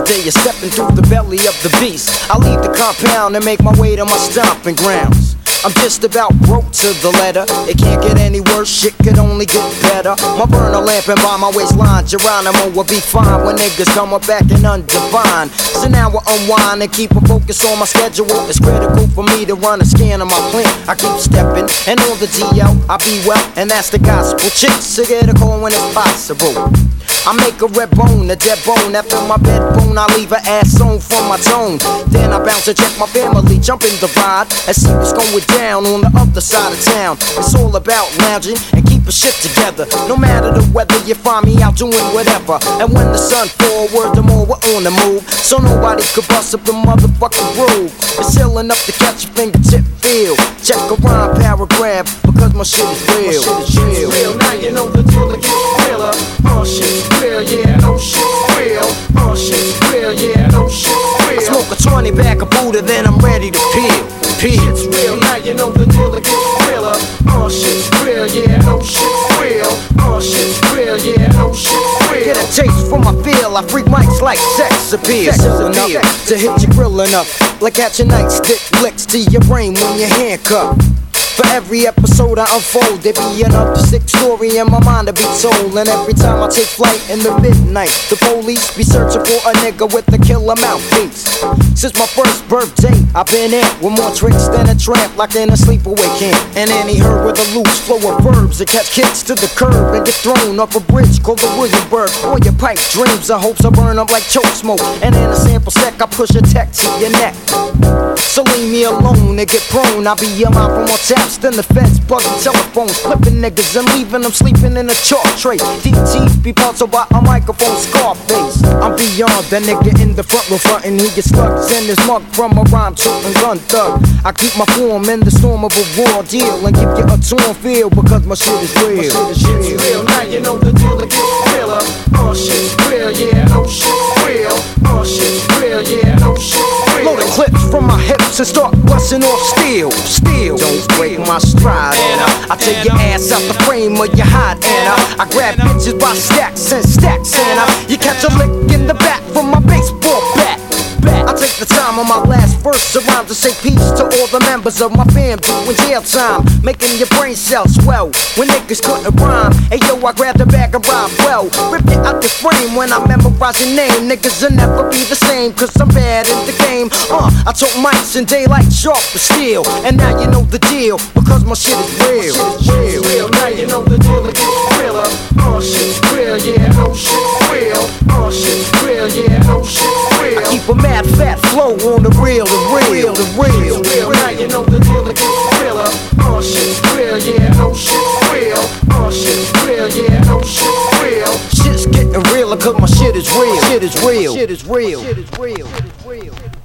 day of stepping through the belly of the beast. I leave the compound and make my way to my stomping grounds. I'm just about broke to the letter. It can't get any worse, shit could only get better. My burner lamp and by my waistline, Geronimo will be fine when niggas come up back and undefine. So now I unwind and keep a focus on my schedule. It's critical for me to run a scan of my plant. I keep stepping, and on the DL, I be well, and that's the gospel. Chicks to get a call when it's possible. I make a red bone, a dead bone. After my bed bone, I leave her ass on from my tone. Then I bounce to check my family, jump in the ride and see what's going down on the other side of town. It's all about lounging and keeping shit together. No matter the weather, you find me out doing whatever. And when the sun forward, the more we're on the move. So nobody could bust up the motherfucking groove. It's still enough to catch a fingertip feel. Check a rhyme paragraph, because my shit is real. My shit is real, now you know the deal, it gets realer. Shit's real, yeah, no shit's real. Shit's real, yeah, no shit's real. I smoke a 20 pack of Buddha, then I'm ready to peel. Shit's real, now you know the deal, it gets realer. Shit's real, yeah, no shit's real. Shit's real, yeah, no shit's real. Get a taste for my feel, I freak mics like sex appeal. Enough to hit your grill enough, like catching nightstick licks to your brain when you're handcuffed. For every episode I unfold, there be another sick story in my mind to be told. And every time I take flight in the midnight, the police be searching for a nigga with a killer mouthpiece. Since my first birthday, I've been in with more tricks than a tramp, like in a sleepaway camp. And any herd with a loose flow of verbs that catch kicks to the curb and get thrown off a bridge called the Williamsburg. All your pipe dreams and hopes I burn up like choke smoke. And in a sample sec, I push a tech to your neck. So leave me alone and get prone. I'll be your mouth for more taps than the feds buzzing telephones, flipping niggas and leaving them sleeping in a chalk tray. DTs be puzzled by a microphone Scarface. I'm beyond that nigga in the front row frontin'. He gets slugs in his mug from a rhyme toting gun thug. I keep my form in the storm of a raw deal and give you a torn feel because my shit is real. My shit is real, now you know the deal, it gets realer. Shit's real, yeah, no shit's real. Shit's real, yeah, no shit's real. Loading clips from my hips and start busting off steel. Don't break my stride, and I take your ass out the frame of your hide, and I grab bitches by stacks and stacks, and you catch a lick in the back from my baseball bat. I take the time on my last verse around to say peace to all the members of my fam doing jail time, making your brain cells swell when niggas couldn't rhyme. Hey yo, I grabbed a bag of rhyme well, ripped it out the frame when I memorize your name. Niggas will never be the same, cause I'm bad in the game. I took mics in daylight sharp for steel, and now you know the deal, because my shit is real. Shit's real, now you know the deal, it gets realer. Shit's real, yeah, no shit's real. Shit's real, yeah, no shit's real. I keep a mad fat flow on the real, the real, the real. Shit's real, now you know the deal, it gets realer. Shit's real, yeah, no shit's real. Shit's real, yeah, no shit's real. Shit's getting realer cause my shit is real. Shit is real. Shit is real. Shit is real.